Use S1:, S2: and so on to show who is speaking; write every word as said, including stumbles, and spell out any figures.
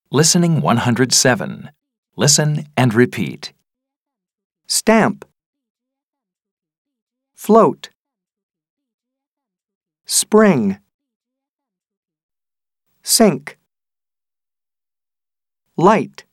S1: Listening one hundred seven. Listen and repeat.
S2: Stamp. Float. Spring. Sink. Light.